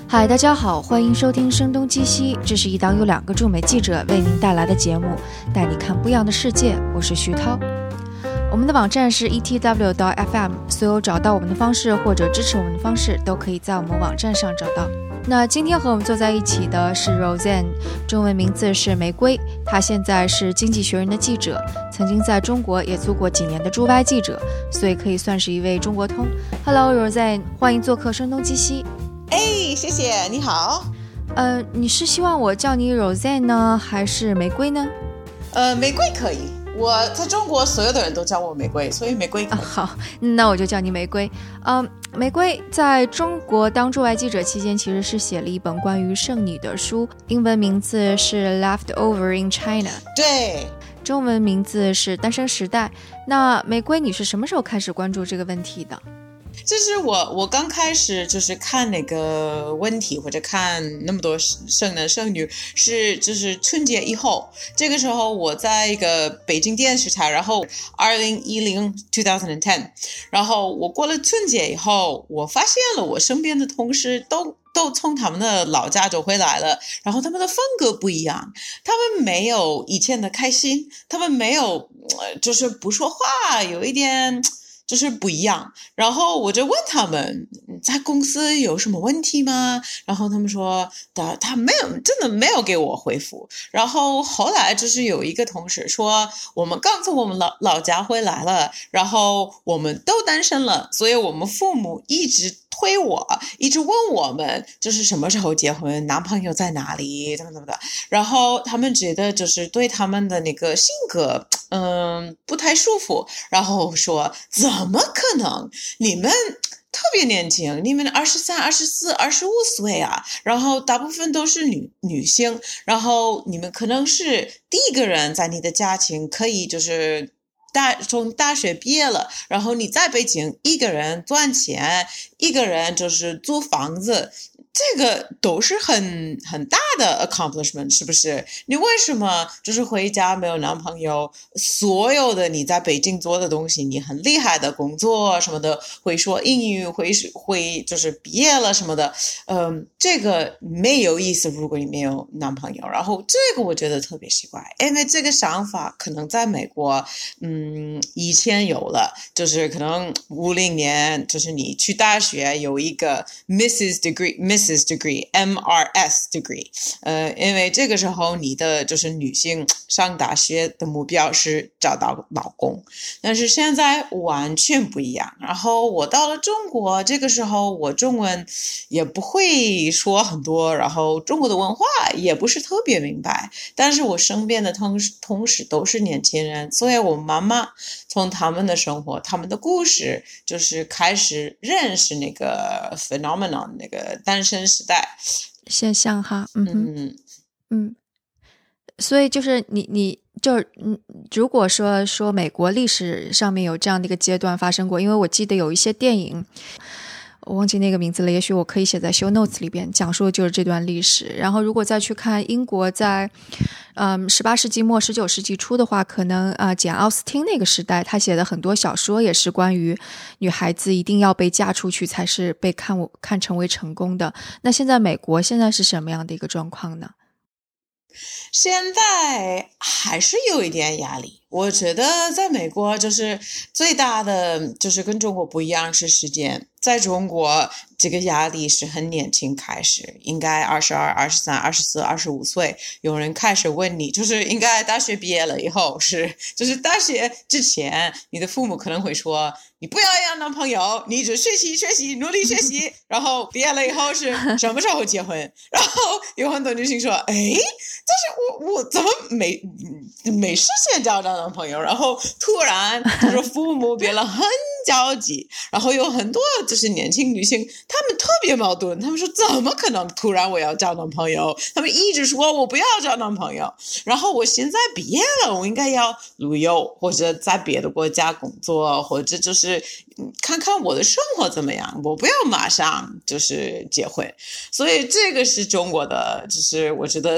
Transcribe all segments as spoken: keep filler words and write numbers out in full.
嗨，大家好，欢迎收听声东击西，这是一档由两个驻美记者为您带来的节目，带你看不一样的世界。我是徐涛。我们的网站是 E T W 到 F M， 所有找到我们的方式或者支持我们的方式都可以在我们网站上找到。那今天和我们坐在一起的是 Roseanne， 中文名字是玫瑰，她现在是经济学人的记者，曾经在中国也做过几年的驻外记者，所以可以算是一位中国通。Hello Roseanne， 欢迎做客声东击西。 哎，谢谢，你好。 呃，你是希望我叫你 Roseanne 呢，还是玫瑰呢？ 呃，玫瑰可以。我在中国所有的人都叫我玫瑰，所以玫瑰可以。 啊、好，那我就叫你玫瑰。嗯、呃，玫瑰在中国当驻外记者期间，其实是写了一本关于剩女的书，英文名字是 Leftover in China， 对， 中文名字是单身时代。那玫瑰，你是什么时候开始关注这个问题的？ 就是我我刚开始就是看那个问题或者看那么多剩男剩女是就是春节以后，这个时候我在一个北京电视台，然后二零一零 twenty ten， 然后我过了春节以后，我发现了我身边的同事都都从他们的老家走回来了，然后他们的风格不一样，他们没有以前的开心，他们没有就是不说话，有一点就是不一样。然后我就问他们在公司有什么问题吗？然后他们说他他没有，真的没有给我回复。然后后来就是有一个同事说我们刚从我们老老家回来了，然后我们都单身了，所以我们父母一直推我，一直问我们就是什么时候结婚，男朋友在哪里，怎么怎么的。然后他们觉得就是对他们的那个性格嗯不太舒服，然后说怎么可能，你们特别年轻，你们二十三、二十四、二十五岁啊，然后大部分都是女女性，然后你们可能是第一个人在你的家庭可以就是大从大学毕业了，然后你在北京一个人赚钱，一个人就是租房子，这个都是很很大的 accomplishment， 是不是？你为什么就是回家没有男朋友？所有的你在北京做的东西，你很厉害的工作什么的，会说英语，会会就是毕业了什么的，嗯，这个没有意思。如果你没有男朋友，然后这个我觉得特别奇怪，因为这个想法可能在美国，嗯，以前有了，就是可能五零年，就是你去大学有一个 Missus Degree。Missus Degree M R S Degree， 呃，因为这个时候你的就是女性上大学的目标是找到老公，但是现在完全不一样。然后我到了中国，这个时候我中文也不会说很多，然后中国的文化也不是特别明白，但是我身边的同事同事都是年轻人，所以我妈妈从他们的生活他们的故事就是开始认识那个 phenomenon， 那个单身时代现象哈。嗯哼嗯嗯，所以就是你你就嗯，如果说说美国历史上面有这样的一个阶段发生过，因为我记得有一些电影我忘记那个名字了，也许我可以写在 show notes 里边，讲述的就是这段历史。然后如果再去看英国在嗯十八世纪末十九世纪初的话，可能啊、呃、简奥斯汀那个时代他写的很多小说也是关于女孩子一定要被嫁出去才是被看看成为成功的。那现在美国现在是什么样的一个状况呢？ 现在还是有一点压力，我觉得在美国就是最大的就是跟中国不一样是时间，在中国这个压力是很年轻开始，应该二十二、二十三、二十四、二十五岁，有人开始问你，就是应该大学毕业了以后是，就是大学之前，你的父母可能会说，你不要要男朋友，你只学习学习，努力学习，然后毕业了以后是什么时候结婚？然后有很多女性说，哎，但是我我怎么没没实现找到男朋友？然后突然就是父母变了很焦急，然后有很多就是年轻女性，她们特别矛盾，她们说怎么可能突然我要找男朋友？她们一直说我不要找男朋友，然后我现在毕业了，我应该要旅游或者在别的国家工作，或者就是看看我的生活怎么样，我不要马上就是结婚。所以这个是中国的，就是我觉得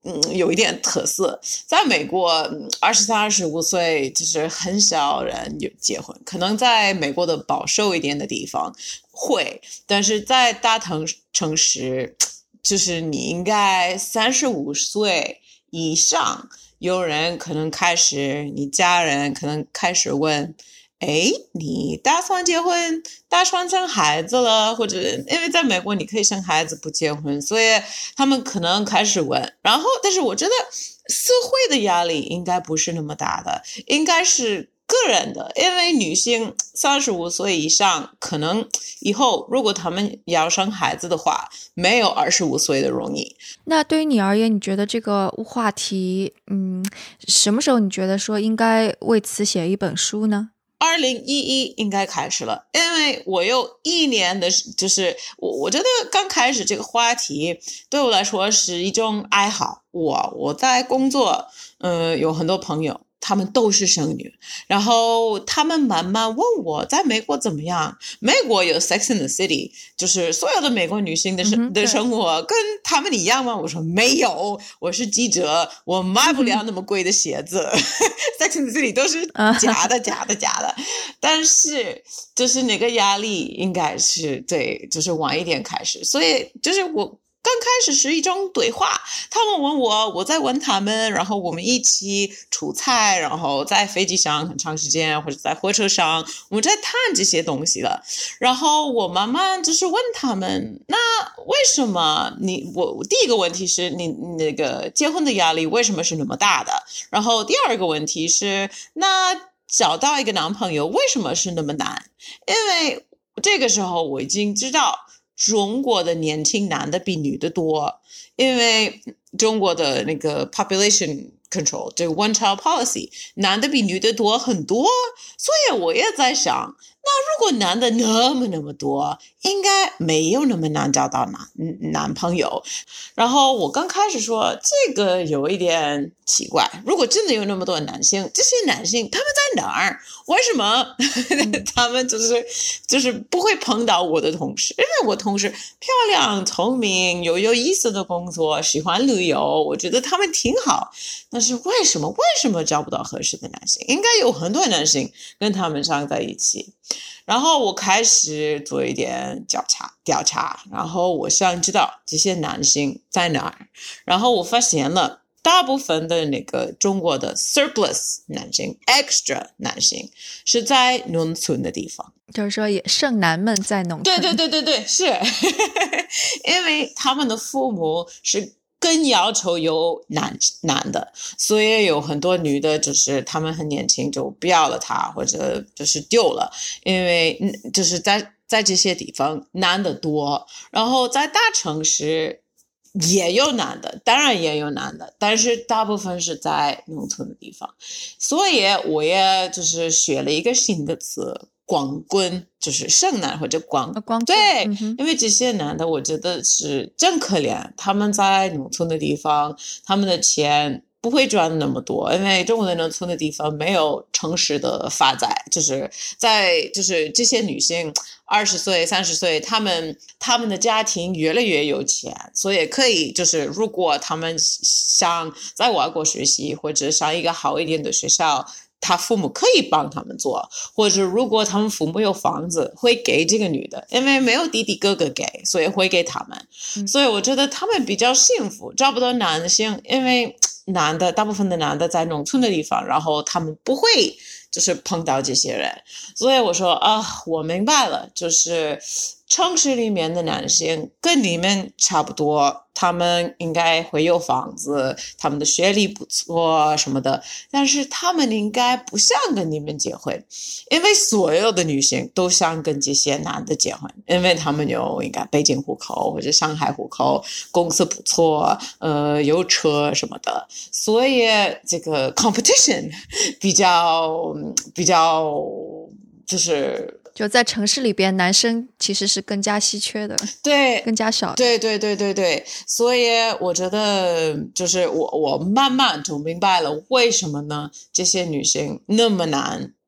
嗯，有一点特色。在美国，二十三、二十五岁就是很少人有结婚，可能在美国的保守一点的地方会，但是在大城城市，就是你应该三十五岁以上，有人可能开始，你家人可能开始问。哎，你打算结婚，打算生孩子了，或者因为在美国你可以生孩子不结婚，所以他们可能开始问。然后，但是我觉得社会的压力应该不是那么大的，应该是个人的，因为女性三十五岁以上，可能以后如果他们要生孩子的话，没有二十五岁的容易。 那对于你而言，你觉得这个话题，嗯，什么时候你觉得说应该为此写一本书呢？ 二零一一应该开始了，因为我有一年的，就是我我觉得刚开始这个话题对我来说是一种爱好。我我在工作，呃，有很多朋友，他们都是剩女，然后他们慢慢问我在美国怎么样。美国有 Sex and the City， 就是所有的美国女性的生、嗯、的生活跟他们一样吗？我说没有，我是记者，我买不了那么贵的鞋子。嗯、Sex and the City 都是假的，假的，假的。但是就是那个压力应该是对，就是晚一点开始，所以就是我。刚开始是一种对话，他们问我，我在问他们，然后我们一起出差，然后在飞机上很长时间，或者在火车上，我们在谈这些东西了。然后我慢慢就是问他们，那为什么你我第一个问题是你那个结婚的压力为什么是那么大的？然后第二个问题是，那找到一个男朋友为什么是那么难？因为这个时候我已经知道。中国的年轻男的比女的多，因为中国的那个 population control 这个 one child policy， 男的比女的多很多，所以我也在想，那如果男的那么那么多，应该没有那么难找到男男朋友。然后我刚开始说这个有一点奇怪，如果真的有那么多男性，这些男性他们在哪儿？为什么他们就是就是不会碰到我的同事？因为我同事漂亮、聪明、有有意思的工作，喜欢旅游，我觉得他们挺好。但是为什么为什么找不到合适的男性？应该有很多男性跟他们上在一起。然后我开始做一点调查调查，然后我想知道这些男性在哪儿。然后我发现了。大部分的那个中国的 surplus 男性 extra 男性是在农村的地方， 就是说也剩男们在农村。 对对对对对，是因为他们的父母是更要求有男男的，所以有很多女的就是他们很年轻就不要了他，或者就是丢了，因为就是在在这些地方男的多，然后在大城市也有男的，当然也有男的，但是大部分是在农村的地方，所以我也就是学了一个新的词，光棍，就是剩男或者光光棍。 对、 嗯， 因为这些男的我觉得是真可怜，他们在农村的地方，他们的钱不会赚那么多，因为中国的农村的地方没有城市的发展，就是在就是这些女性二十岁、三十岁，他们他们的家庭越来越有钱，所以可以就是如果他们想在外国学习或者上一个好一点的学校。他父母可以帮他们做，或者如果他们父母有房子，会给这个女的，因为没有弟弟哥哥给，所以会给他们。嗯、所以我觉得他们比较幸福，找不到男性，因为男的大部分的男的在农村的地方，然后他们不会就是碰到这些人。所以我说啊，我明白了，就是城市里面的男性跟你们差不多，他们应该会有房子，他们的学历不错什么的，但是他们应该不想跟你们结婚，因为所有的女性都想跟这些男的结婚，因为他们有应该北京户口或者上海户口，公司不错，呃，有车什么的，所以这个 competition 比较比较就是就在城市里边，男生其实是更加稀缺的， 对， 更加少的。 对对对对对，所以我觉得就是我我慢慢就明白了为什么呢？这些女性那么难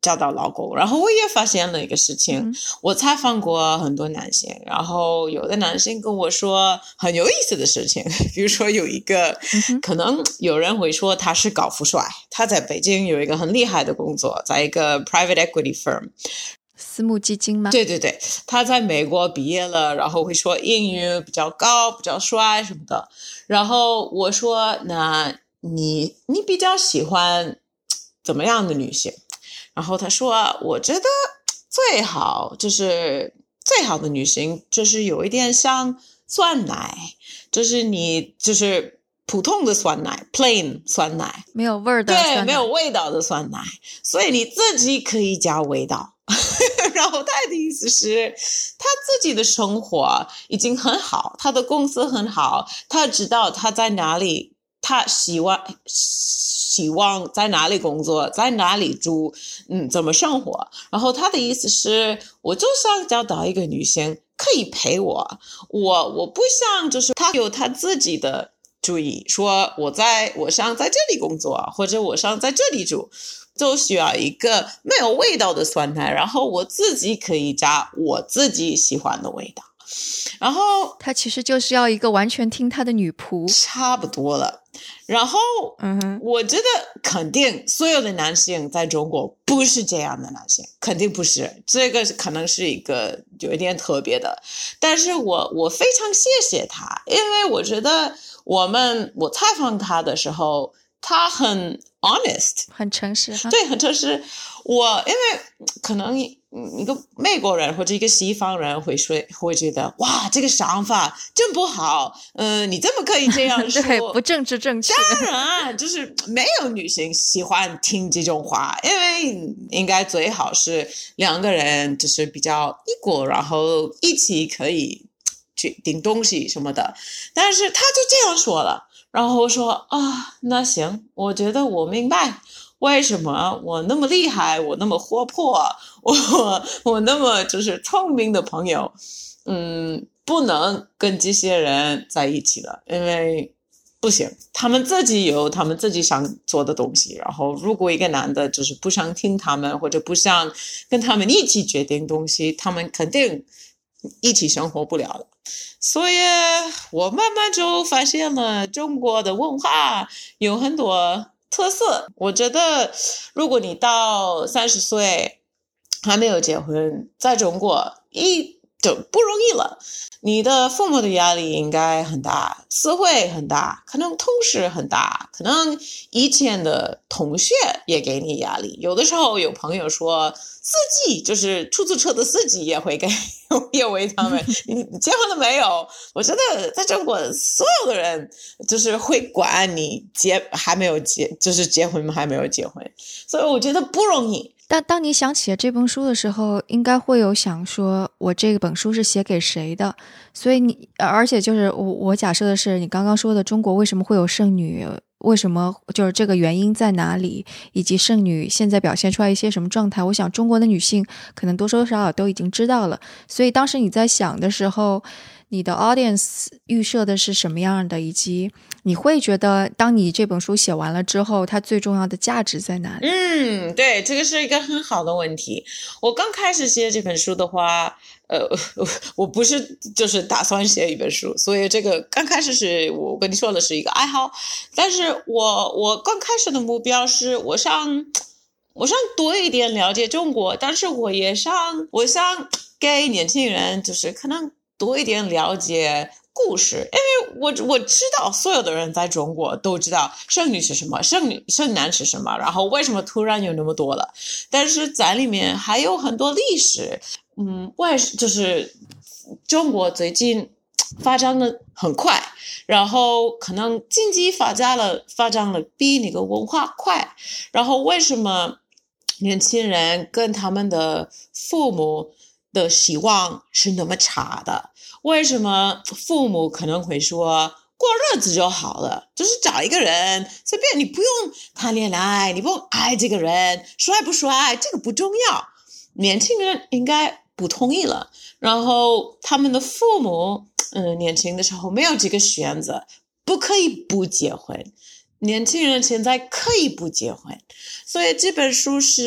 找到老公。然后我也发现了一个事情，嗯、我采访过很多男性，然后有的男性跟我说很有意思的事情，比如说有一个、嗯、可能有人会说他是高富帅，他在北京有一个很厉害的工作，在一个 private equity firm。 私募基金吗？ 对对对，他在美国毕业了，然后会说英语比较高，比较帅什么的。然后我说，那你你比较喜欢怎么样的女性？然后他说，我觉得最好就是最好的女性就是有一点像酸奶，就是你就是普通的酸奶 plain 酸奶， 没有味儿的酸奶， 对，没有味道的酸奶，所以你自己可以加味道。然后他的意思是他自己的生活已经很好，他的公司很好，他知道他在哪里，他希望希望在哪里工作，在哪里住，嗯，怎么生活。然后他的意思是，我就想找到一个女性可以陪我，我我不想就是他有他自己的主意，说我在我想在这里工作，或者我想在这里住，就需要一个没有味道的酸奶，然后我自己可以加我自己喜欢的味道。然后他其实就是要一个完全听他的女仆， 差不多了。然后嗯，我觉得肯定所有的男性在中国不是这样的男性，肯定不是，这个可能是一个有一点特别的。但是我我非常谢谢他，因为我觉得我们我采访他的时候，他很 honest， 很诚实哈。 对，很诚实。我因为可能一个美国人或者一个西方人会说会觉得哇，这个想法真不好，嗯、呃，你怎么可以这样说？ 对，不政治正确。 当然，就是没有女性喜欢听这种话，因为应该最好是两个人就是比较 equal， 然后一起可以决定东西什么的。但是他就这样说了。然后我说啊，那行，我觉得我明白为什么我那么厉害，我那么活泼，我我那么就是聪明的朋友，嗯，不能跟这些人在一起了，因为不行，他们自己有他们自己想做的东西。然后如果一个男的就是不想听他们，或者不想跟他们一起决定东西，他们肯定一起生活不了了。所以我慢慢就发现了中国的文化有很多特色。我觉得如果你到三十岁还没有结婚，在中国一就不容易了，你的父母的压力应该很大，社会很大，可能同事很大，可能以前的同学也给你压力。有的时候有朋友说司机就是出租车的司机也会给也为他们你结婚了没有？我觉得在中国所有的人就是会管你结还没有结就是结婚还没有结婚，所以我觉得不容易。 但当你想起了这本书的时候，应该会有想说我这本书是写给谁的。所以你而且就是我我假设的是你刚刚说的中国为什么会有剩女，为什么就是这个原因在哪里，以及剩女现在表现出来一些什么状态，我想中国的女性可能多多少少都已经知道了。所以当时你在想的时候，你的 audience 预设的是什么样的，以及你会觉得当你这本书写完了之后，它最重要的价值在哪里？ 嗯，对，这个是一个很好的问题。我刚开始写这本书的话，呃，我不是就是打算写一本书，所以这个刚开始是我跟你说的是一个爱好，但是我我刚开始的目标是我想我想多一点了解中国，但是我也想我想给年轻人就是可能多一点了解故事，因为我我知道所有的人在中国都知道剩女是什么，剩女剩男是什么，然后为什么突然有那么多了，但是在里面还有很多历史。嗯，外就是中国最近发展的很快，然后可能经济发展了发展了比那个文化快，然后为什么年轻人跟他们的父母的希望是那么差的？为什么父母可能会说过日子就好了，就是找一个人随便，你不用谈恋爱，你不用爱这个人，帅不帅这个不重要。年轻人应该不同意了，然后他们的父母嗯，年轻的时候没有这个选择，不可以不结婚，年轻人现在可以不结婚，所以这本书是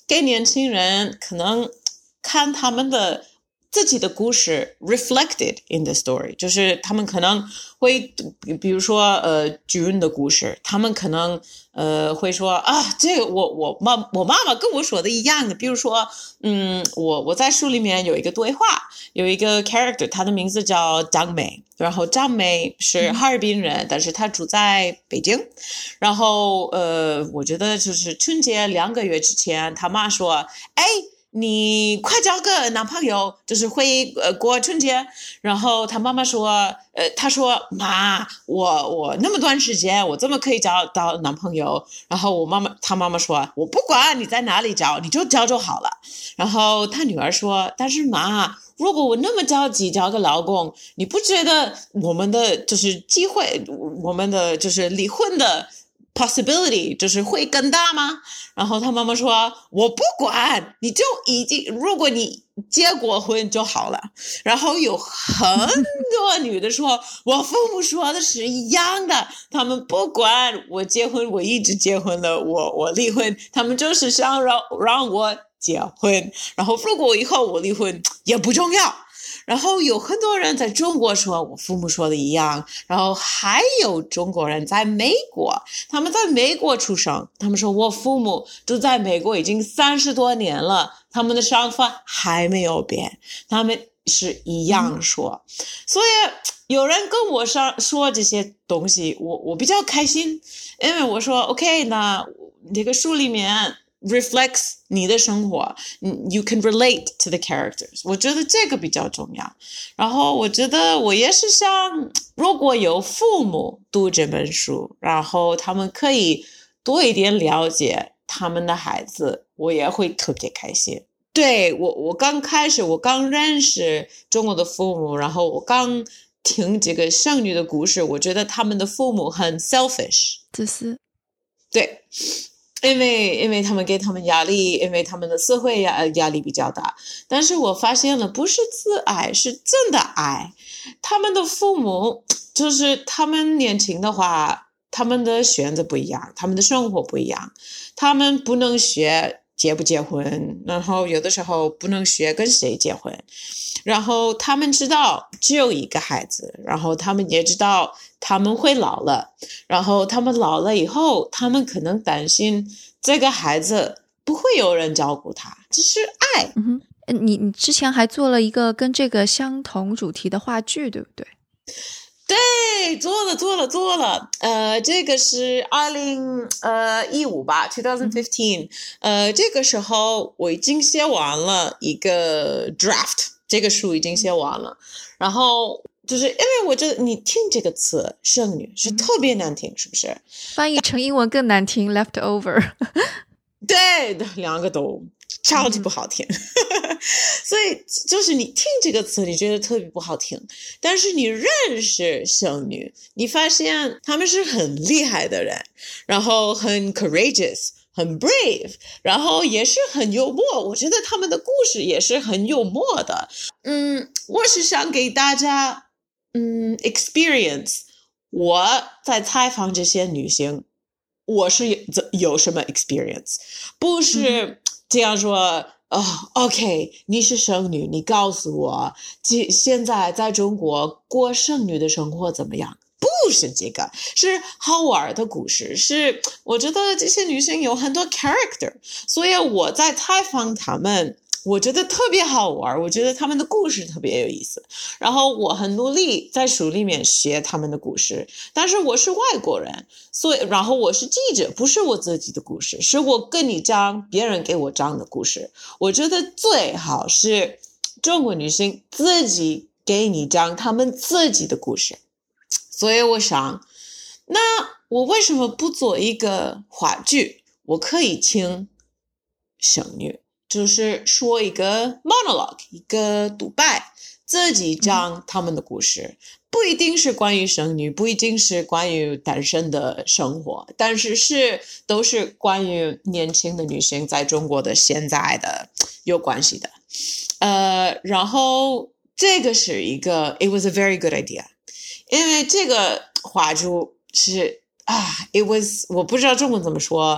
给年轻人可能看他们的自己的故事 reflected in the story， 就是他们可能会比如说呃June的故事，他们可能呃会说啊，这个我我妈我妈妈跟我说的一样的，比如说嗯我我在书里面有一个对话，有一个 character， 他的名字叫张梅，然后张梅是哈尔滨人，嗯、但是他住在北京，然后呃我觉得就是春节两个月之前，他妈说哎。你快交个男朋友，就是会呃过春节。然后他妈妈说，呃，他说妈，我我那么短时间，我怎么可以交到男朋友？然后我妈妈，他妈妈说，我不管你在哪里交，你就交就好了。然后他女儿说，但是妈，如果我那么着急交个老公，你不觉得我们的就是机会，我们的就是离婚的possibility 就是会更大吗？然后他妈妈说我不管，你就已经如果你结过婚就好了。然后有很多女的说我父母说的是一样的，他们不管我结婚，我一直结婚了，我我离婚，他们就是想让让我结婚，然后如果以后我离婚也不重要。然后有很多人在中国说我父母说的一样，然后还有中国人在美国，他们在美国出生，他们说我父母都在美国已经三十多年了，他们的想法还没有变，他们是一样说。嗯、所以有人跟我说说这些东西，我我比较开心，因为我说 OK， 那这个书里面reflects 你的生活 you can relate to the characters， 我觉得这个比较重要。然后我觉得我也是想如果有父母读这本书，然后他们可以多一点了解他们的孩子，我也会特别开心。对，我我刚开始我刚认识中国的父母，然后我刚听这个剩女的故事，我觉得他们的父母很 selfish， 自私。 对，因为因为他们给他们压力，因为他们的社会压压力比较大。但是我发现了，不是自爱，是真的爱。他们的父母就是他们年轻的话，他们的选择不一样，他们的生活不一样，他们不能学结不结婚，然后有的时候不能学跟谁结婚，然后他们知道只有一个孩子，然后他们也知道他们会老了，然后他们老了以后，他们可能担心这个孩子不会有人照顾他，这是爱。 嗯哼，你你之前还做了一个跟这个相同主题的话剧，对不对？ 对，做了做了做了，呃，这个是二零呃一五吧 ，twenty fifteen，、嗯、呃，这个时候我已经写完了一个 draft， 这个书已经写完了，然后就是因为我觉得你听这个词剩女是特别难听，是不是？ 翻译成英文更难听 leftover。 对，两个都超级不好听。所以就是你听这个词你觉得特别不好听，但是你认识剩女，你发现他们是很厉害的人，然后很 courageous， 很 brave， 然后也是很幽默，我觉得他们的故事也是很幽默的。嗯，我是想给大家嗯 experience 我在采访这些女性我是有什么 experience， 不是这样说哦、oh, ，OK， 你是剩女，你告诉我，现在在中国过剩女的生活怎么样？不是这个，是好玩的故事，是我觉得这些女性有很多 character， 所以我在采访她们，我觉得特别好玩，我觉得他们的故事特别有意思，然后我很努力在书里面学他们的故事，但是我是外国人，所以然后我是记者，不是我自己的故事，是我跟你讲别人给我讲的故事。我觉得最好是中国女性自己给你讲他们自己的故事，所以我想那我为什么不做一个话剧？我可以请剩女就是说一个 monologue， 一个独白，自己讲他们的故事，不一定是关于剩女，不一定是关于单身的生活，但是是都是关于年轻的女性在中国的现在的有关系的。呃，然后这个是一个 it was a very good idea， 因为这个话剧是啊 it was 我不知道中文怎么说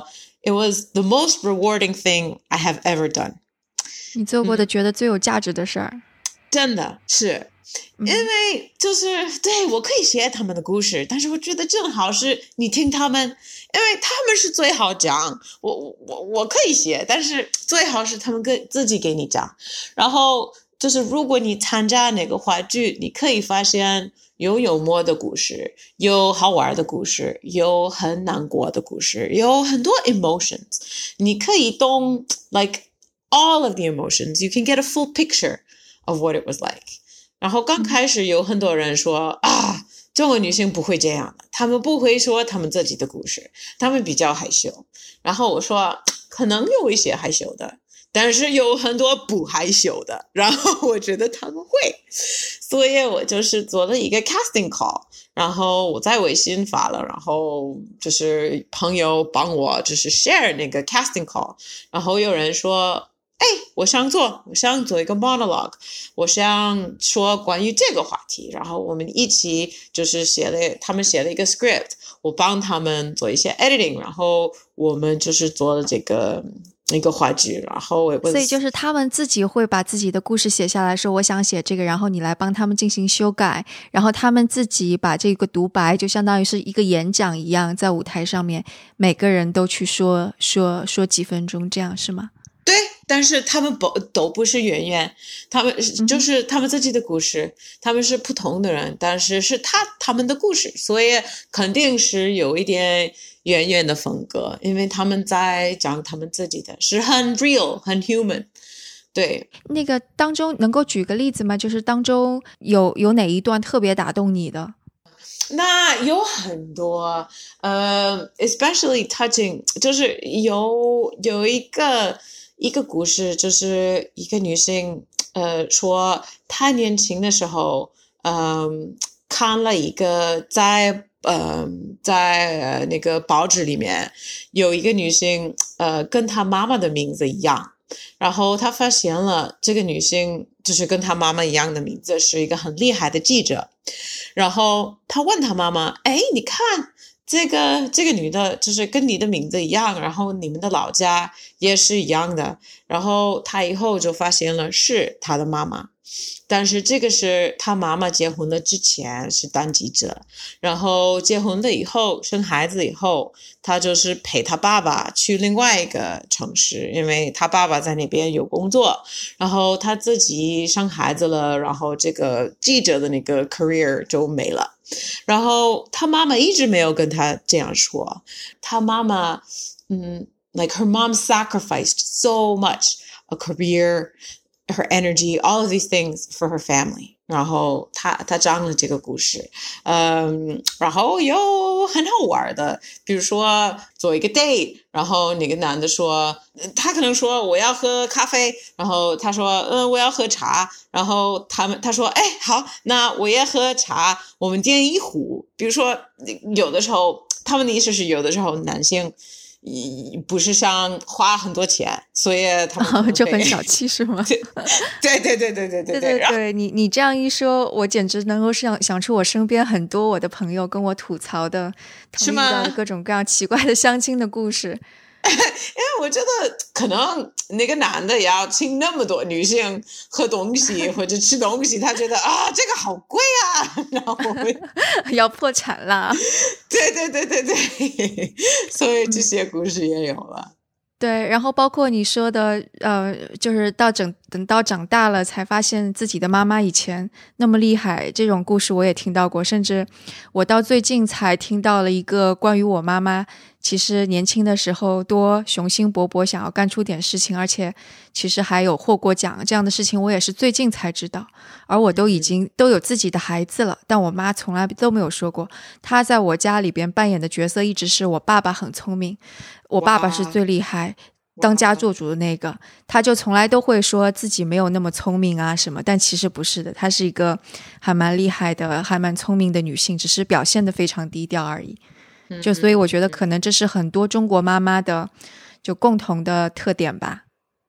it was the most rewarding thing I have ever done. 你做过的觉得最有价值的事儿、嗯、 真的是因为就是对我可以写他们的故事，但是我觉得正好是你听他们，因为他们是最好讲，我我我可以写，但是最好是他们跟自己给你讲。然后就是如果你参加那个话剧，你可以发现有幽默的故事，有好玩的故事，有很难过的故事，有很多 emotions， 你可以懂 like all of the emotions. You can get a full picture of what it was like. 然后刚开始有很多人说、嗯、啊，中国女性不会这样的，她们不会说她们自己的故事，她们比较害羞。然后我说可能有一些害羞的，但是有很多不害羞的，然后我觉得他们会，所以我就是做了一个 casting call， 然后我在微信发了，然后就是朋友帮我就是 share 那个 casting call， 然后有人说哎，我想做，我想做一个 monologue， 我想说关于这个话题，然后我们一起就是写了，他们写了一个 script， 我帮他们做一些 editing， 然后我们就是做了这个一个话剧，然后我所以就是他们自己会把自己的故事写下来，说我想写这个，然后你来帮他们进行修改，然后他们自己把这个独白就相当于是一个演讲一样，在舞台上面每个人都去说说说几分钟，这样是吗？ 对，但是他们不都不是演员，他们就是他们自己的故事、嗯、他们是普通的人，但是是他他们的故事，所以肯定是有一点演员的风格，因为他们在讲他们自己的，是很 real 很 human。 对， 那个当中能够举个例子吗？就是当中有有哪一段特别打动你的？ 那有很多呃 especially touching， 就是有有一个一个故事，就是一个女性呃说她年轻的时候嗯、呃、看了一个在呃在呃那个报纸里面有一个女性呃跟她妈妈的名字一样，然后她发现了这个女性就是跟她妈妈一样的名字，是一个很厉害的记者，然后她问她妈妈，哎，你看这个这个女的就是跟你的名字一样，然后你们的老家也是一样的，然后她以后就发现了是她的妈妈，但是这个是她妈妈结婚了之前是当记者，然后结婚了以后生孩子以后，她就是陪她爸爸去另外一个城市，因为她爸爸在那边有工作，然后她自己生孩子了，然后这个记者的那个 career 就没了，然后她妈妈一直没有跟她这样说，她妈妈嗯 like her mom sacrificed so much a career, her energy, all of these things for her family， 然后她她讲了这个故事，嗯，然后有很好玩的，比如说做一个 date， 然后那个男的说他可能说我要喝咖啡，然后他说嗯我要喝茶，然后他们他说哎好，那我也喝茶，我们点一壶。比如说有的时候他们的意思是有的时候男性不是想花很多钱，所以他们、 哦、就很小气是吗？ 对对对对对对对对对对，你你这样一说，我简直能够想想出我身边很多我的朋友跟我吐槽的， 是吗？遇到的各种各样奇怪的相亲的故事。 因为我觉得可能那个男的要请那么多女性喝东西或者吃东西，他觉得啊这个好贵啊，然后要破产啦。 对对对对对，所以这些故事也有了。 对，然后包括你说的呃，就是到整等到长大了才发现自己的妈妈以前那么厉害，这种故事我也听到过，甚至我到最近才听到了一个关于我妈妈其实年轻的时候多雄心勃勃想要干出点事情，而且其实还有获过奖，这样的事情我也是最近才知道，而我都已经都有自己的孩子了，但我妈从来都没有说过。她在我家里边扮演的角色一直是我爸爸很聪明，我爸爸是最厉害当家做主的那个，她就从来都会说自己没有那么聪明啊什么，但其实不是的，她是一个还蛮厉害的还蛮聪明的女性，只是表现得非常低调而已。就所以我觉得可能这是很多中国妈妈的就共同的特点吧。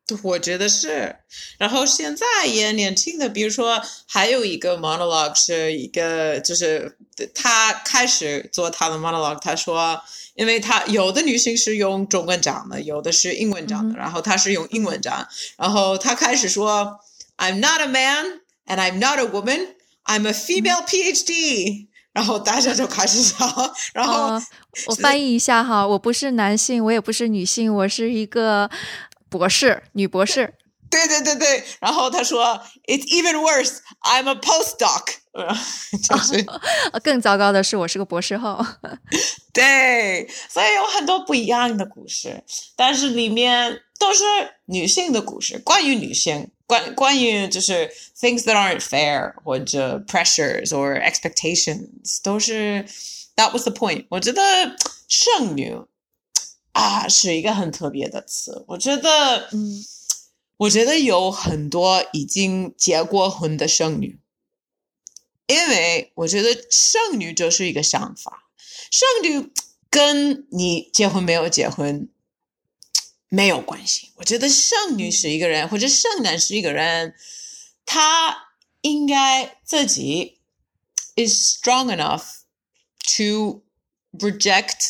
我觉得是。然后现在也年轻的，比如说还有一个 monologue 是一个，就是他开始做他的 monologue， 他说，因为他有的女性是用中文讲的，有的是英文讲的，嗯、然后他是用英文讲，然后他开始说 I'm not a man and I'm not a woman, I'm a female PhD，、嗯、然后大家就开始笑，然后、 呃、我翻译一下哈，我不是男性，我也不是女性，我是一个博士，女博士。 对对对对，然后他说 It's even worse, I'm a postdoc 就是、 哦、更糟糕的是我是个博士后。 对，所以有很多不一样的故事，但是里面都是女性的故事，关于女性，关关于就是 things that aren't fair 或者 pressures or expectations， 都是 that was the point。 我觉得剩女啊是一个很特别的词，我觉得嗯我觉得有很多已经结过婚的剩女，因为我觉得剩女就是一个想法，剩女跟你结婚没有结婚没有关系。我觉得剩女是一个人，或者剩男是一个人，他应该自己 is strong enough to reject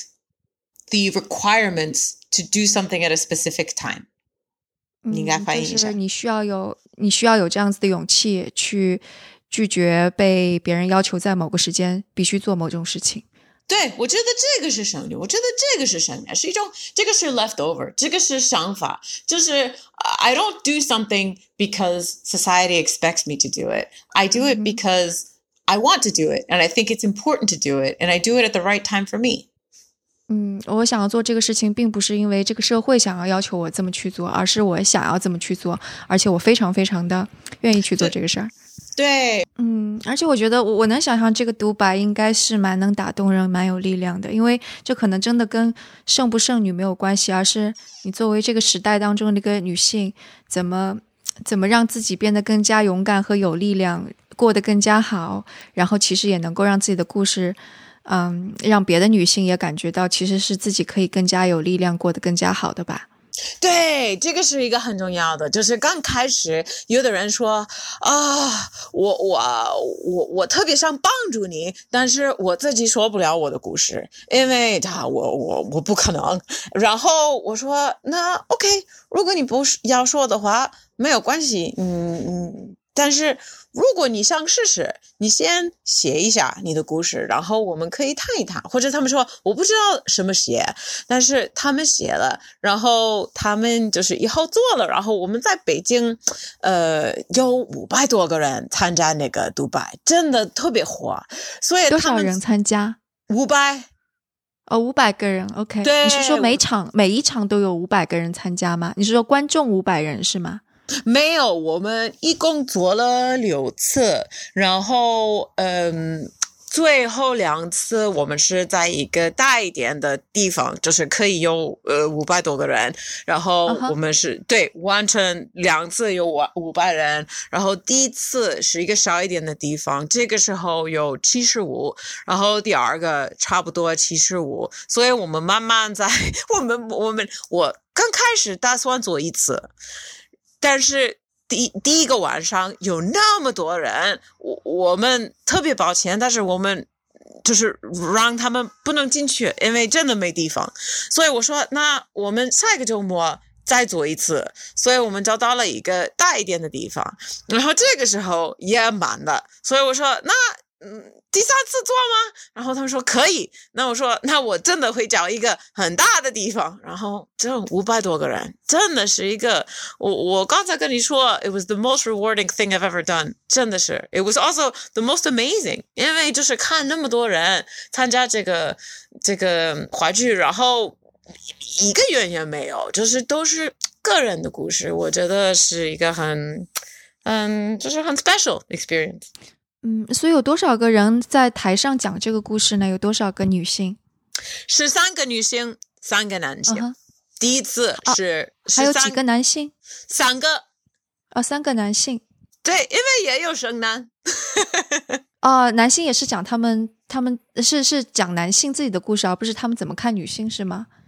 the requirements to do something at a specific time。你应该翻译一下、嗯、 就是你需要有你需要有这样子的勇气去拒绝被别人要求在某个时间必须做某种事情。 对，我觉得这个是剩女，我觉得这个是剩女，是一种，这个是 leftover， 这个是想法，就是、uh, I don't do something because society expects me to do it. I do it because I want to do it, and I think it's important to do it, and I do it at the right time for me. 嗯，我想要做这个事情并不是因为这个社会想要要求我这么去做，而是我想要这么去做，而且我非常非常的愿意去做这个事儿。 对， 嗯，而且我觉得我我能想象这个独白应该是蛮能打动人，蛮有力量的，因为这可能真的跟剩不剩女没有关系，而是你作为这个时代当中的一个女性，怎么怎么让自己变得更加勇敢和有力量，过得更加好，然后其实也能够让自己的故事嗯，让别的女性也感觉到其实是自己可以更加有力量过得更加好的吧。 对，这个是一个很重要的，就是刚开始有的人说啊，我我我我特别想帮助你，但是我自己说不了我的故事，因为他我我我不可能。然后我说那 OK， 如果你不要说的话没有关系，嗯嗯，但是如果你想试试，你先写一下你的故事，然后我们可以谈一谈。或者他们说我不知道什么写，但是他们写了，然后他们就是以后做了，然后我们在北京呃有五百多个人参加那个独白，真的特别火。所以他们多少人参加？ 五百哦，五百个人 OK。 对， 你是说每场每一场都有五百个人参加吗？你是说观众五百人是吗？ 没有，我们一共做了六次，然后嗯，最后两次我们是在一个大一点的地方，就是可以有呃五百多个人，然后我们是、uh-huh. 对完成两次有五百人，然后第一次是一个小一点的地方，这个时候有七十五，然后第二个差不多七十五，所以我们慢慢在我们我们我刚开始打算做一次。但是第第一个晚上有那么多人，我我们特别抱歉，但是我们就是让他们不能进去，因为真的没地方。所以我说，那我们下一个周末再做一次。所以我们找到了一个大一点的地方，然后这个时候也满了。所以我说，那嗯，第三次做吗？然后他们说可以。那我说，那我真的会找一个很大的地方。然后这五百多个人，真的是一个，我我刚才跟你说 ，it was the most rewarding thing I've ever done， 真的是 ，it was also the most amazing， 因为就是看那么多人参加这个这个话剧，然后一个演员没有，就是都是个人的故事，我觉得是一个很，嗯，就是很 special experience。 嗯，所以有多少个人在台上讲这个故事呢？有多少个女性？ 十三个女性，三个男性。Uh-huh. 第一次是、 啊、还有几个男性？ 三个。 哦，三个男性。 对，因为也有剩男。 哦，男性也是讲他们，他们是是讲男性自己的故事，而不是他们怎么看女性，是吗？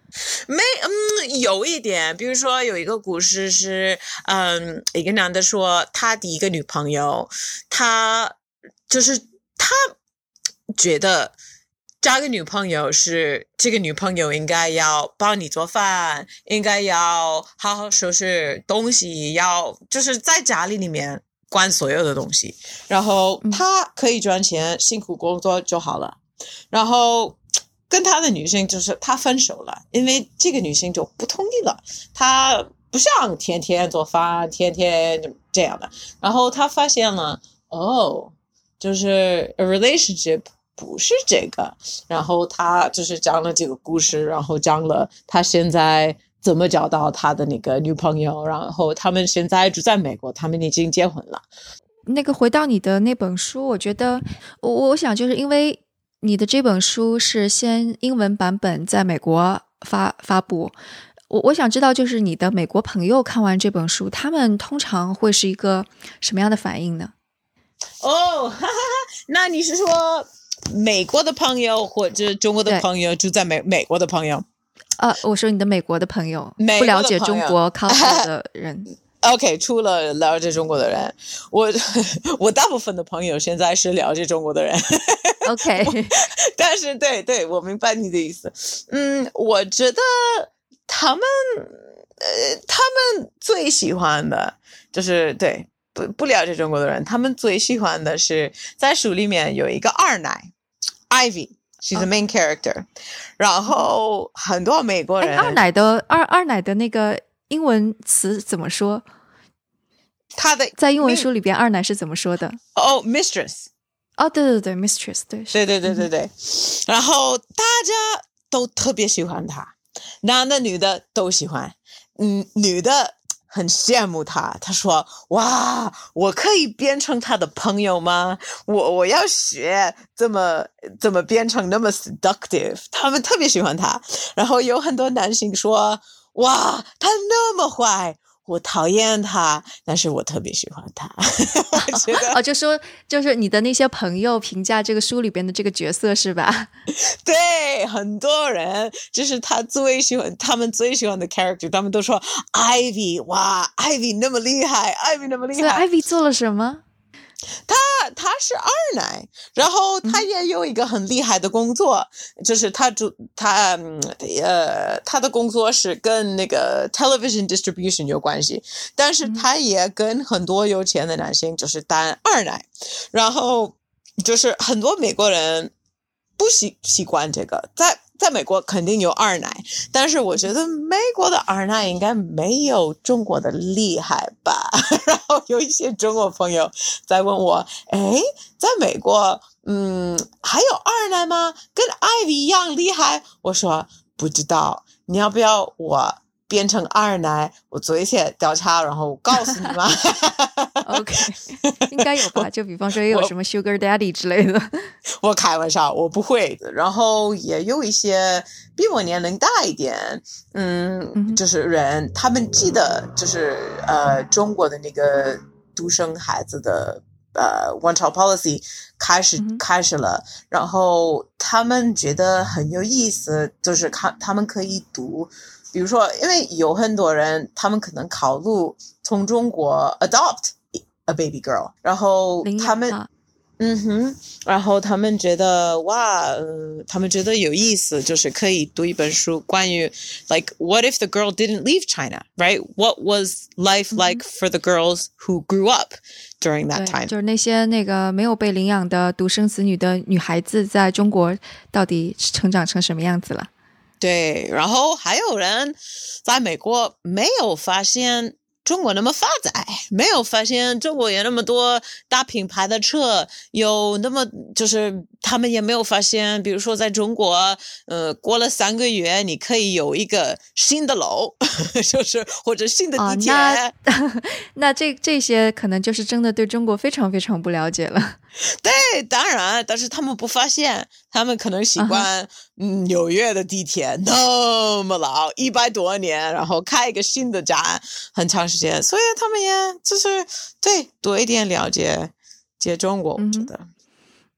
没，嗯，有一点，比如说有一个故事是，嗯，一个男的说他第一个女朋友，他就是他觉得交个女朋友是这个女朋友应该要帮你做饭，应该要好好收拾东西，要就是在家里里面管所有的东西，然后他可以赚钱，辛苦工作就好了，然后。跟他的女性就是他分手了，因为这个女性就不同意了，他不想天天做饭，天天这样的。然后他发现了，哦，就是 a relationship 不是这个。然后他就是讲了这个故事，然后讲了他现在怎么找到他的那个女朋友，然后他们现在住在美国，他们已经结婚了。 那个回到你的那本书，我觉得我我想就是因为。你的这本书是先英文版本在美国发发布，我我想知道，就是你的美国朋友看完这本书，他们通常会是一个什么样的反应呢？ 哦，哈哈哈，那你是说美国的朋友或者中国的朋友住在美美国的朋友？ 呃，我说你的美国的朋友， 不了解中国 culture 的人。 OK， 除了了解中国的人，我我大部分的朋友现在是了解中国的人。 OK， 但是对对，我明白你的意思。嗯，我觉得他们呃，他们最喜欢的就是对不不了解中国的人，他们最喜欢的是在书里面有一个二奶 Ivy。She's the main character，、哦、然后很多美国人， 二奶的二二奶的那个英文词怎么说？ 他的在英文书里边，二奶是怎么说的？ 哦 ，mistress。 哦，对对对 ，mistress， 对， 对对对对对。嗯、然后大家都特别喜欢他，男的女的都喜欢。嗯，女的很羡慕他，他说：“哇，我可以变成他的朋友吗？我我要学怎么怎么变成那么 seductive。”他们特别喜欢他。然后有很多男性说：“哇，他那么坏。”我讨厌他，但是我特别喜欢他。我觉得哦，就说就是你的那些朋友评价这个书里边的这个角色是吧？ 对，很多人就是他最喜欢，他们最喜欢的 character， 他们都说 Ivy， 哇 ，Ivy 那么厉害 ，Ivy 那么厉害。 所以 Ivy 做了什么？ 他他是二奶，然后他也有一个很厉害的工作，嗯、就是他主他呃他的工作是跟那个 television distribution 有关系，但是他也跟很多有钱的男性就是当二奶，然后就是很多美国人不习习惯这个，在。在美国肯定有二奶，但是我觉得美国的二奶应该没有中国的厉害吧。然后有一些中国朋友在问我，诶，在美国，嗯，还有二奶吗？跟 Ivy 一样厉害？我说不知道，你要不要我变成二奶，我做一些调查，然后告诉你吗 ？OK， 应该有吧？就比方说也有什么 Sugar Daddy 之类的。 我开玩笑，我不会。然后也有一些比我年龄大一点，嗯，就是人，他们记得就是呃中国的那个独生孩子的呃 one child policy 开始、嗯、开始了，然后他们觉得很有意思，就是看他们可以读。比如说，因为有很多人，他们可能考虑从中国 adopt a baby girl， 然后他们，嗯哼，然后他们觉得哇、呃，他们觉得有意思，就是可以读一本书关于 like what if the girl didn't leave China, right? What was life like for the girls who grew up during that time? 就是那些那个没有被领养的独生子女的女孩子，在中国到底成长成什么样子了？ 对，然后还有人在美国没有发现中国那么发展，没有发现中国有那么多大品牌的车，有那么就是他们也没有发现，比如说在中国，呃，过了三个月你可以有一个新的楼，就是或者新的地铁。 哦、那那这这些可能就是真的对中国非常非常不了解了。 对，当然，但是他们不发现，他们可能习惯、uh-huh. 嗯纽约的地铁那么老，一百多年，然后开一个新的站，很长时间，所以他们也就是对多一点了解解中国，我觉得。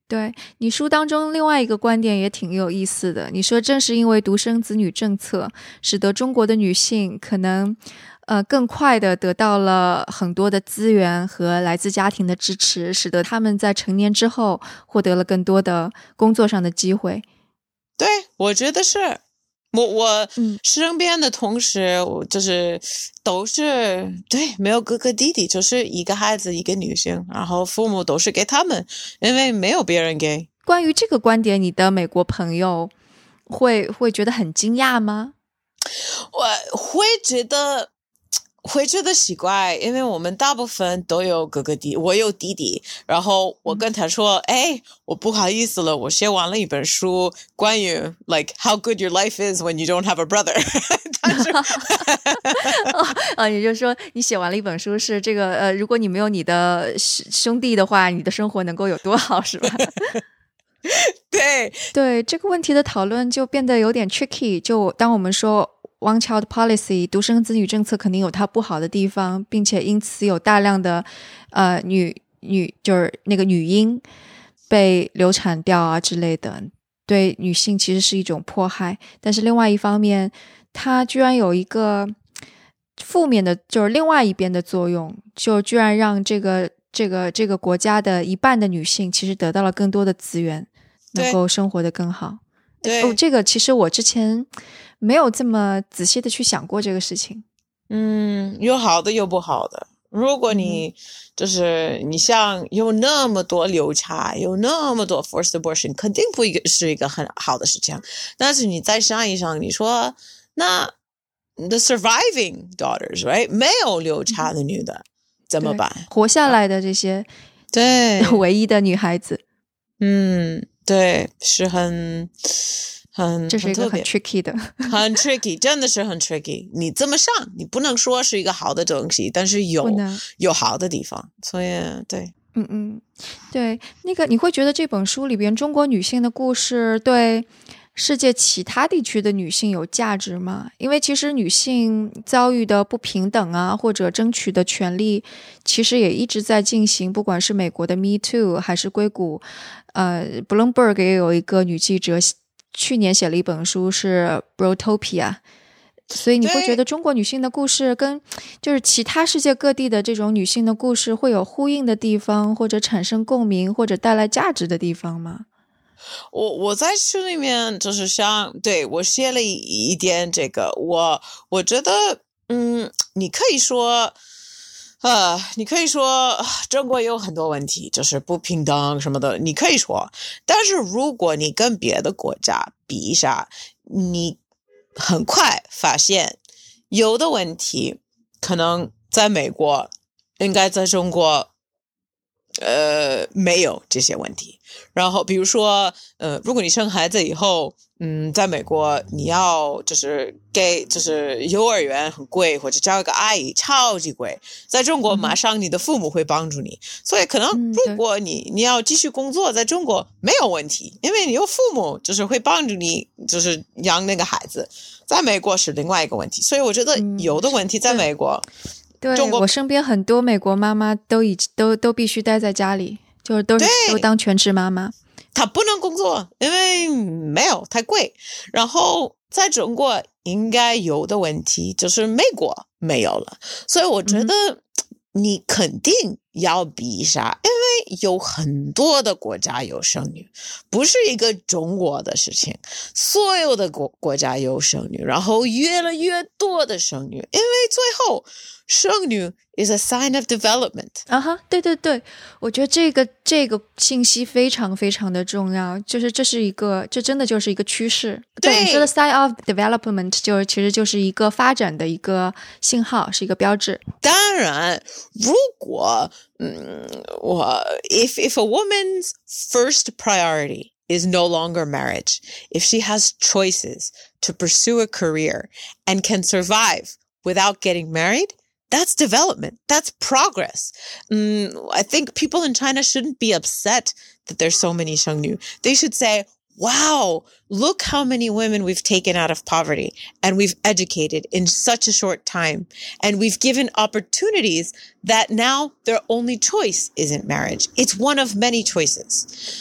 对，你书当中另外一个观点也挺有意思的，你说正是因为独生子女政策，使得中国的女性可能呃更快的得到了很多的资源和来自家庭的支持，使得她们在成年之后获得了更多的工作上的机会。 对，我觉得是。我我身边的同事，我就是都是对，没有哥哥弟弟，就是一个孩子一个女性，然后父母都是给他们，因为没有别人给。 关于这个观点，你的美国朋友会会觉得很惊讶吗？ 我会觉得会觉得奇怪，因为我们大部分都有哥哥弟，我有弟弟，然后我跟他说，哎、嗯，我不好意思了，我写完了一本书，关于 like how good your life is when you don't have a brother 但是哦，哦，也就是说你写完了一本书是这个呃，如果你没有你的兄弟的话，你的生活能够有多好，是吧？ 对对，这个问题的讨论就变得有点 tricky， 就当我们说One child policy 独生子女政策肯定有它不好的地方，并且因此有大量的呃女女就是那个女婴被流产掉啊之类的，对女性其实是一种迫害。但是另外一方面，它居然有一个负面的，就是另外一边的作用，就居然让这个这个这个国家的一半的女性其实得到了更多的资源，能够生活得更好。 对， 哦，这个其实我之前没有这么仔细的去想过这个事情。 嗯，有好的有不好的。如果你、嗯、就是你像有那么多流产，有那么多 forced abortion， 肯定不是一个很好的事情。但是你再想一想，你说那 the surviving daughters right 没有流产的女的、嗯、怎么办？ 活下来的这些对唯一的女孩子， 嗯，对，是很很这是一个很 tricky 的很 tricky， 真的是很 tricky。 你这么上你不能说是一个好的东西，但是有有好的地方，所以对嗯嗯，对，那个你会觉得这本书里边中国女性的故事对世界其他地区的女性有价值吗？因为其实女性遭遇的不平等啊，或者争取的权利其实也一直在进行，不管是美国的 Me Too 还是硅谷呃 Bloomberg 也有一个女记者去年写了一本书是 Brotopia， 所以你会觉得中国女性的故事跟就是其他世界各地的这种女性的故事会有呼应的地方，或者产生共鸣，或者带来价值的地方吗？ 我我在书里面就是像对我写了一点这个，我我觉得嗯，你可以说呃，你可以说中国有很多问题，就是不平等什么的，你可以说，但是如果你跟别的国家比一下，你很快发现有的问题可能在美国应该在中国呃没有这些问题。然后比如说呃，如果你生孩子以后嗯，在美国你要就是给就是幼儿园很贵，或者叫一个阿姨超级贵，在中国马上你的父母会帮助你、嗯、所以可能如果你、嗯、你要继续工作在中国没有问题，因为你有父母就是会帮助你就是养那个孩子，在美国是另外一个问题。所以我觉得有的问题在美国、嗯、 对， 中国我身边很多美国妈妈都已都都必须待在家里，就是都是都当全职妈妈， 她不能工作，因为没有太贵。然后在中国应该有的问题就是美国没有了，所以我觉得你肯定要比一下、嗯、因为有很多的国家有生育，不是一个中国的事情，所有的国国家有生育，然后越来越多的生育，因为最后生育 is a sign of development 啊哈，对对对，我觉得这个这个信息非常非常的重要，就是这是一个这真的就是一个趋势。 对， 对你说的 sign of development 就其实就是一个发展的一个信号，是一个标志。 当然如果嗯，我 if if a woman's first priority is no longer marriage, if she has choices to pursue a career and can survive without getting married, that's development. That's progress. Um, I think people in China shouldn't be upset that there's so many 生女. They should say, wow, look how many women we've taken out of poverty and we've educated in such a short time. And we've given opportunities that now their only choice isn't marriage. It's one of many choices.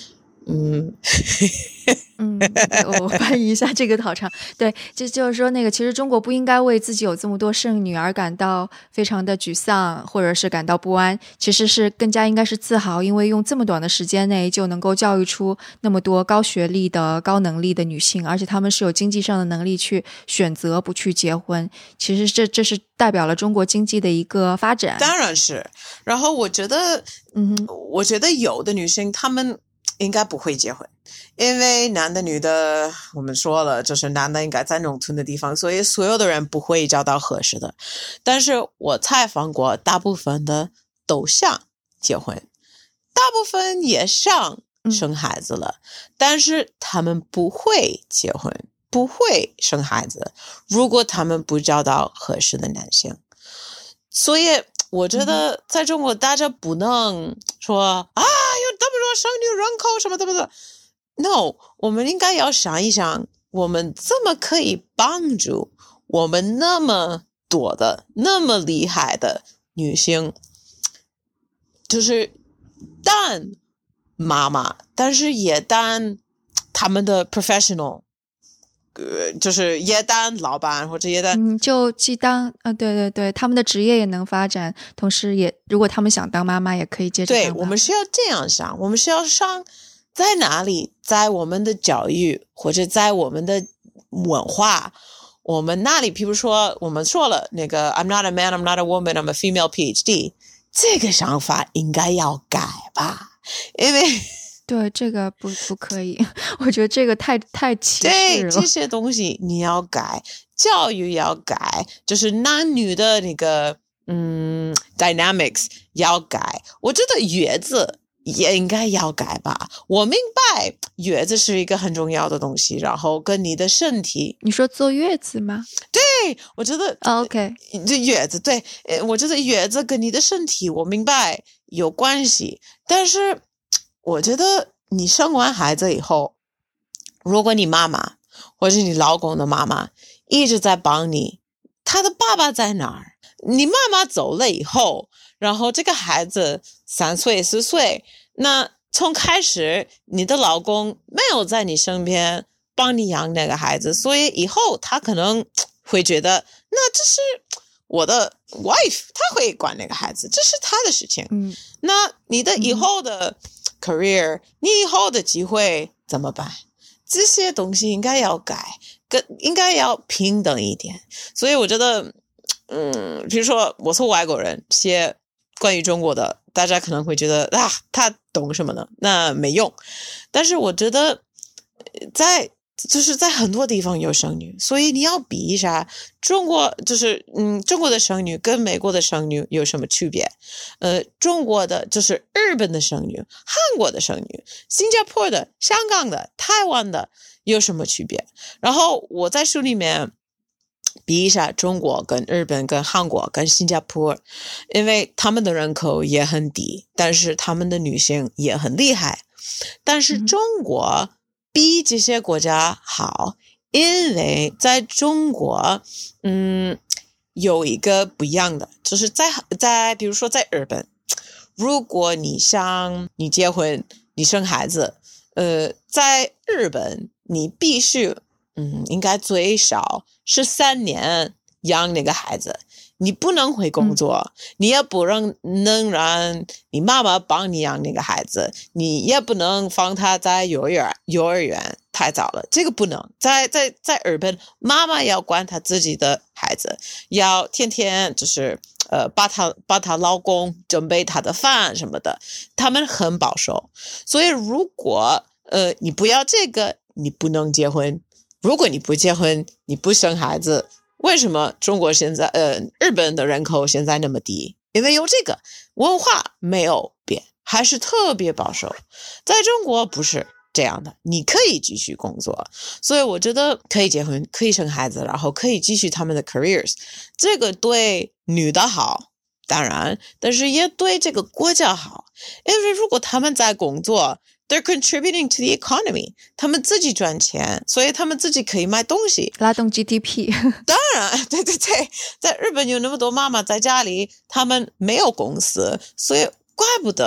嗯嗯，我翻译一下这个好长。对，就就是说那个，其实中国不应该为自己有这么多剩女而感到非常的沮丧，或者是感到不安，其实是更加应该是自豪，因为用这么短的时间内就能够教育出那么多高学历的高能力的女性，而且她们是有经济上的能力去选择不去结婚，其实这这是代表了中国经济的一个发展。 当然是。然后我觉得嗯， 我觉得有的女生她们应该不会结婚，因为男的女的我们说了，就是男的应该在农村的地方，所以所有的人不会找到合适的。但是我采访过大部分的都想结婚，大部分也想生孩子了、嗯、但是他们不会结婚，不会生孩子，如果他们不找到合适的男性。所以我觉得在中国大家不能说、嗯、啊有这么多生育人口什么什么的 No， 我们应该要想一想，我们怎么可以帮助我们那么多的那么厉害的女性，就是当妈妈，但是也当他们的 professional，呃，就是也当老板或者也当， 嗯，就既当啊，对对对，他们的职业也能发展，同时也如果他们想当妈妈，也可以接着当妈妈。 对，我们是要这样想，我们是要上在哪里，在我们的教育或者在我们的文化，我们那里，比如说我们说了那个 I'm not a man, I'm not a woman, I'm a female PhD， 这个想法应该要改吧，因为。 对，这个不不可以，我觉得这个太太歧视了。 对，这些东西你要改，教育要改，就是男女的那个嗯 dynamics 要改。我觉得月子也应该要改吧。我明白月子是一个很重要的东西，然后跟你的身体。 你说坐月子吗？ 对，我觉得、 oh, OK， 这月子对，我觉得月子跟你的身体我明白有关系，但是。我觉得你生完孩子以后，如果你妈妈或者你老公的妈妈一直在帮你，他的爸爸在哪儿？你妈妈走了以后，然后这个孩子三岁四岁，那从开始你的老公没有在你身边帮你养那个孩子，所以以后他可能会觉得那这是我的 wife， 他会管那个孩子，这是他的事情。 嗯， 那你的以后的 career，、嗯、你以后的机会怎么办？这些东西应该要改，跟应该要平等一点。所以我觉得，嗯，比如说我是外国人，写关于中国的，大家可能会觉得啊，他懂什么呢？那没用。但是我觉得，在就是在很多地方有生女，所以你要比一下中国，就是嗯，中国的生女跟美国的生女有什么区别？呃，中国的就是日本的生女、韩国的生女、新加坡的、香港的、台湾的有什么区别？然后我在书里面比一下中国跟日本跟韩国跟新加坡，因为他们的人口也很低，但是他们的女性也很厉害，但是中国比这些国家好，因为在中国，嗯，有一个不一样的，就是在在比如说在日本，如果你想你结婚，你生孩子，呃，在日本你必须，嗯，应该最少是三年养那个孩子。你不能会工作、嗯、你也不能能让你妈妈帮你养那个孩子，你也不能放他在幼儿园幼儿园太早了，这个不能。在在在日本，妈妈要管她自己的孩子，要天天就是呃把她把她老公准备她的饭什么的，他们很保守。所以如果呃你不要这个，你不能结婚。如果你不结婚，你不生孩子。为什么中国现在呃日本的人口现在那么低？因为有这个文化没有变，还是特别保守。在中国不是这样的，你可以继续工作，所以我觉得可以结婚，可以生孩子，然后可以继续他们的 careers， 这个对女的好，当然，但是也对这个国家好，因为如果他们在工作，They're contributing to the economy. 他们自己赚钱，所以他们自己可以买东西， 拉动 G D P。 当然，对对对，在日本有那么多妈妈在家里，他们没有公司，所以怪不得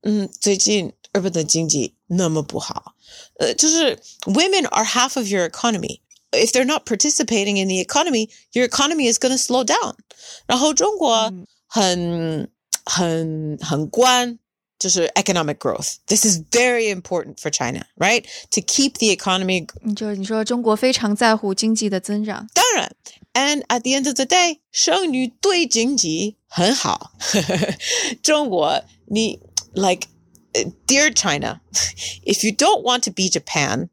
嗯，最近日本的经济那么不好，呃，就是 women are half of your economy. If they're not participating in the economy, your economy is going to slow down. 然后中国很、嗯、很很关就是 economic growth. This is very important for China, right? To keep the economy. 就是你说中国非常在乎经济的增长。 当然 ，and at the end of the day, 剩女对经济很好。中国，你 like, dear China, if you don't want to be Japan,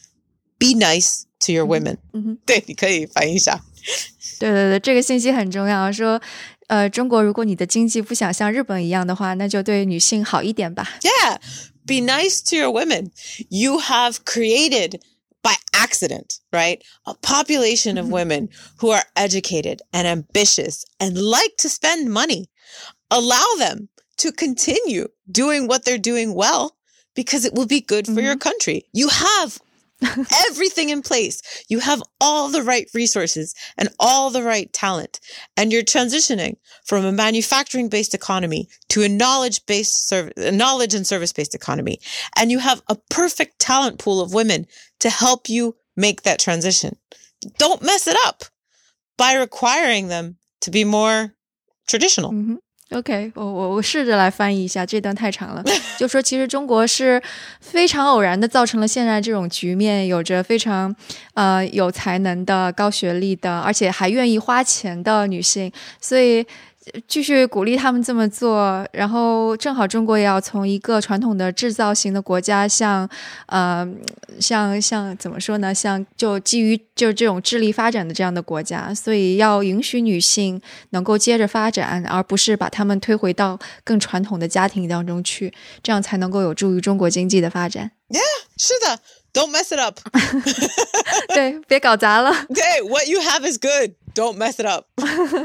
be nice to your women. 嗯哼， 对，你可以翻译一下。 对对对，这个信息很重要。说，呃，中国如果你的经济不想像日本一样的话，那就对女性好一点吧。 Yeah, be nice to your women. You have created by accident, right? A population of women who are educated and ambitious and like to spend money. Allow them to continue doing what they're doing well because it will be good for your country. You have everything in place. You have all the right resources and all the right talent. And you're transitioning from a manufacturing-based economy to a knowledge-based service, a knowledge and service-based economy. And you have a perfect talent pool of women to help you make that transition. Don't mess it up by requiring them to be more traditional. Mm-hmm. OK， 我我我试着来翻译一下，这段太长了。就说其实中国是非常偶然的造成了现在这种局面，有着非常呃有才能的、高学历的，而且还愿意花钱的女性，所以继续鼓励他们这么做。然后正好中国也要从一个传统的制造型的国家向呃像像怎么说呢，像就基于就这种智力发展的这样的国家，所以要允许女性能够接着发展，而不是把她们推回到更传统的家庭当中去，这样才能够有助于中国经济的发展。 Yeah, 是的，Don't mess it up. 对，别搞砸了。 对， what you have is good. Don't mess it up.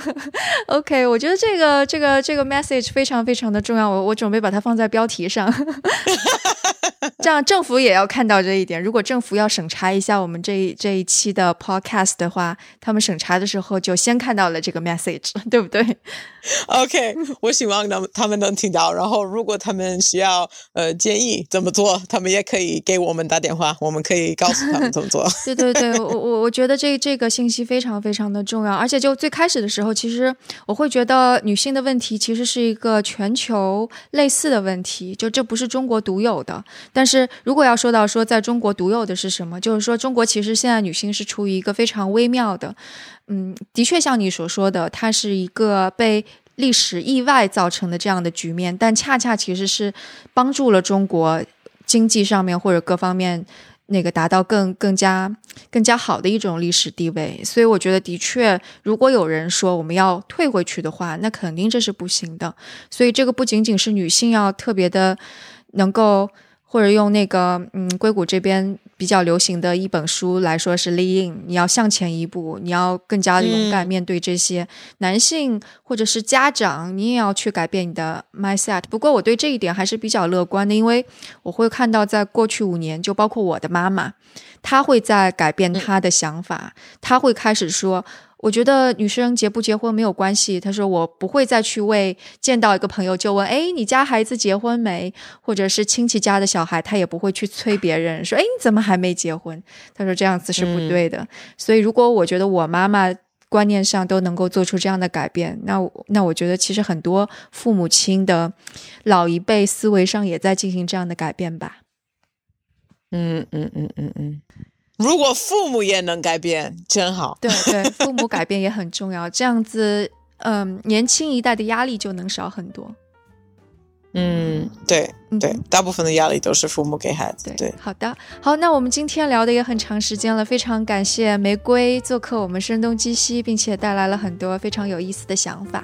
OK， 我觉得这个这个这个 message 非常非常的重要，我我准备把它放在标题上。这样政府也要看到这一点。如果政府要审查一下我们这一这一期的 podcast 的话，他们审查的时候就先看到了这个 message， 对不对？ OK， 我希望他们能听到，然后如果他们需要呃建议怎么做，他们也可以给我们打电话，我们可以告诉他们怎么做。 对对对，我我我觉得这这个信息非常非常的重要，而且就最开始的时候，其实我会觉得女性的问题其实是一个全球类似的问题，就这不是中国独有的。但是如果要说到说在中国独有的是什么，就是说中国其实现在女性是处于一个非常微妙的，嗯，的确像你所说的，它是一个被历史意外造成的这样的局面，但恰恰其实是帮助了中国经济上面或者各方面那个达到更更加更加好的一种历史地位。所以我觉得的确如果有人说我们要退回去的话，那肯定这是不行的。所以这个不仅仅是女性要特别的能够，或者用那个嗯硅谷这边比较流行的一本书来说是 lean in， 你要向前一步，你要更加的勇敢面对这些、嗯、男性或者是家长，你也要去改变你的 mindset。 不过我对这一点还是比较乐观的，因为我会看到在过去五年，就包括我的妈妈，她会在改变她的想法、嗯、她会开始说我觉得女生结不结婚没有关系，她说我不会再去为见到一个朋友就问诶你家孩子结婚没，或者是亲戚家的小孩，她也不会去催别人说诶你怎么还没结婚，她说这样子是不对的、嗯、所以如果我觉得我妈妈观念上都能够做出这样的改变，那那我觉得其实很多父母亲的老一辈思维上也在进行这样的改变吧。 嗯嗯嗯嗯嗯，如果父母也能改变真好。 对对，父母改变也很重要，这样子嗯，年轻一代的压力就能少很多。 嗯，对对、嗯，大部分的压力都是父母给孩子。 对, 对， 好的，好，那我们今天聊的也很长时间了，非常感谢玫瑰做客我们声东击西，并且带来了很多非常有意思的想法。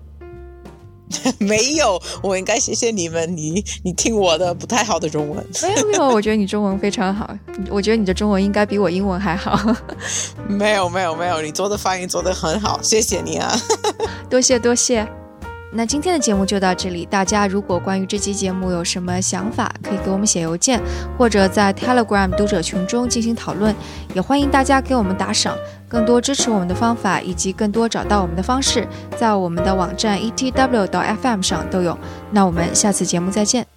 没有，我应该谢谢你们，你你听我的不太好的中文。 没有没有，我觉得你中文非常好，我觉得你的中文应该比我英文还好。 没有没有没有，你做的发音做得很好，谢谢你啊。 多谢多谢。那今天的节目就到这里，大家如果关于这期节目有什么想法，可以给我们写邮件，或者在 Telegram 读者群中进行讨论，也欢迎大家给我们打赏。更多支持我们的方法以及更多找到我们的方式，在我们的网站 E T W 到 F M 上都有。那我们下次节目再见。